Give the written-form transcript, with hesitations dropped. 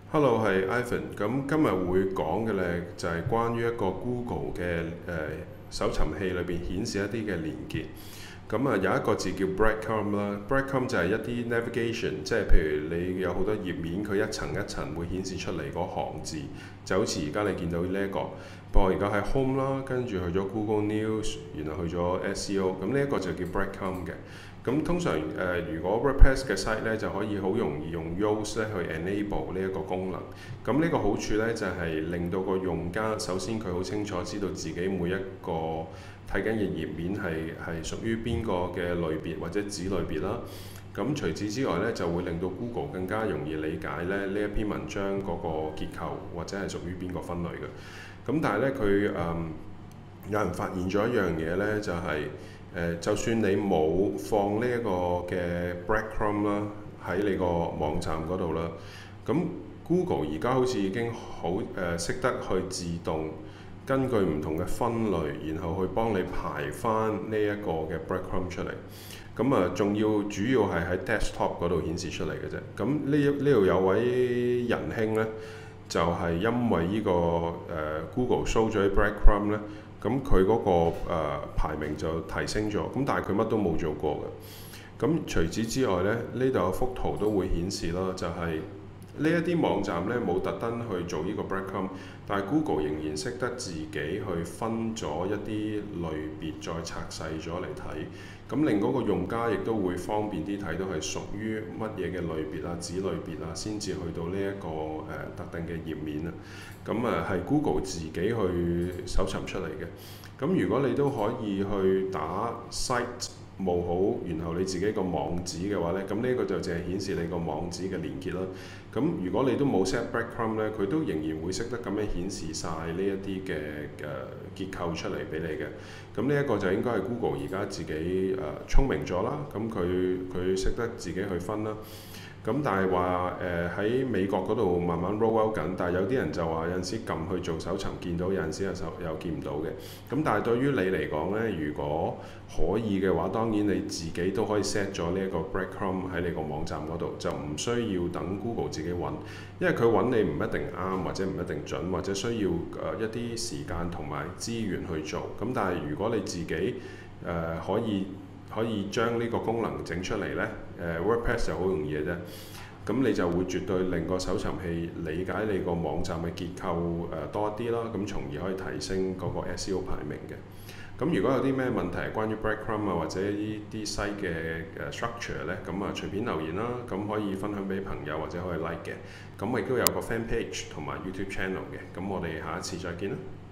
Hello，係 Ivan。咁今日會講嘅呢，就係關於一個 Google 嘅搜尋器裏邊顯示一啲嘅連結。咁有一個字叫 breadcrumb 啦，breadcrumb 就係一啲 navigation，即係譬如你有好多頁面，佢一層一層會顯示出嚟嗰行字，就好似而家你見到呢一個。不過而家喺 home 啦，跟住去咗 Google News，然後去咗 SEO，咁呢一個就叫 breadcrumb 嘅。咁通常如果 WordPress 嘅 site 咧，就可以好容易用 Yoast 咧去 enable 呢一個功能。咁呢個好處咧就係令到個用家首先佢好清楚知道自己每一個睇緊嘅頁面係屬於邊個嘅類別或者子類別啦。咁除此之外咧，就會令到 Google 更加容易理解咧呢一篇文章嗰個結構或者係屬於邊個分類嘅。咁但係咧佢有人發現咗一樣嘢咧，就係、就算你冇放呢一個嘅 breadcrumb 啦喺你個網站嗰度啦，咁 Google 而家好似已經好識得去自動根據唔同嘅分類，然後去幫你排翻呢一個嘅 breadcrumb 出嚟。咁仲要主要係喺 desktop 嗰度顯示出嚟嘅啫。咁呢度有位仁兄呢，就係、因為呢、個Google show 咗啲 breadcrumb 呢。咁佢嗰個排名就提升咗，咁但係佢乜都冇做過嘅。咁除此之外呢，呢度有幅圖都會顯示啦，就係呢一啲網站呢冇特登去做呢個 breadcrumb，但係 Google 仍然識得自己去分咗一啲類別，再拆細咗嚟睇，咁令嗰個用家亦都會方便啲睇到係屬於乜嘢嘅類別啊、子類別啊，先至去到呢一個特定嘅頁面啊。咁係 Google 自己去搜尋出嚟嘅。咁如果你都可以去打 site 冇好，然後你自己個網址嘅話呢，咁呢個就淨係顯示你個網址嘅連結啦。咁如果你都冇 set breadcrumb 呢，佢都仍然會識得咁樣顯示晒呢一啲嘅結構出嚟俾你嘅。咁呢一個就應該係 Google 而家自己聰明咗啦。咁佢識得自己去分啦。咁但係話喺美國嗰度慢慢 roll out 緊，但係有啲人就話有陣時撳去做搜尋見到，有陣時又見唔到嘅。咁但係對於你嚟講呢，如果可以嘅話，當然你自己都可以 set 咗呢一個 breadcrumb 喺你個網站嗰度，就唔需要等 Google 自己揾，因為佢揾你唔一定啱，或者唔一定準，或者需要一啲時間同埋資源去做。咁但係如果你自己可以將呢個功能整出嚟呢，WordPress 就好容易嘅啫。咁你就會絕對令個搜尋器理解你個網站嘅結構多啲啦，咁從而可以提升嗰個 SEO 排名嘅。咁如果有啲咩問題係關於 breadcrumb 啊或者呢啲 site 嘅structure 呢，咁隨便留言啦，咁可以分享俾朋友或者可以 like 嘅。咁我亦都有個 fan page 同埋 YouTube channel 嘅。咁我哋下一次再見啦。